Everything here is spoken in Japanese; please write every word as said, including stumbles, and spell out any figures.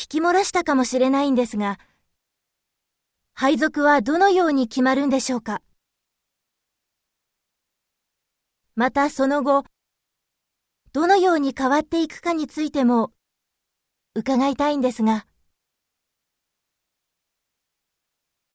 聞き漏らしたかもしれないんですが、配属はどのように決まるんでしょうか。またその後、どのように変わっていくかについても伺いたいんですが。